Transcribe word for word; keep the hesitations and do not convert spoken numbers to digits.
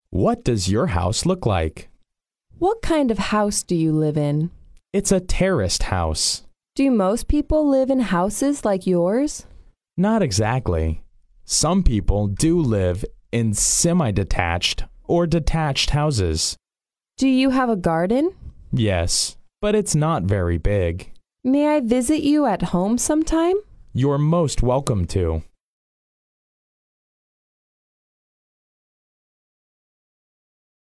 What does your house look like? What kind of house do you live in? It's a terraced house. Do most people live in houses like yours? Not exactly. Some people do live in semi-detached or detached houses. Do you have a garden? Yes, but it's not very big. May I visit you at home sometime? You're most welcome to.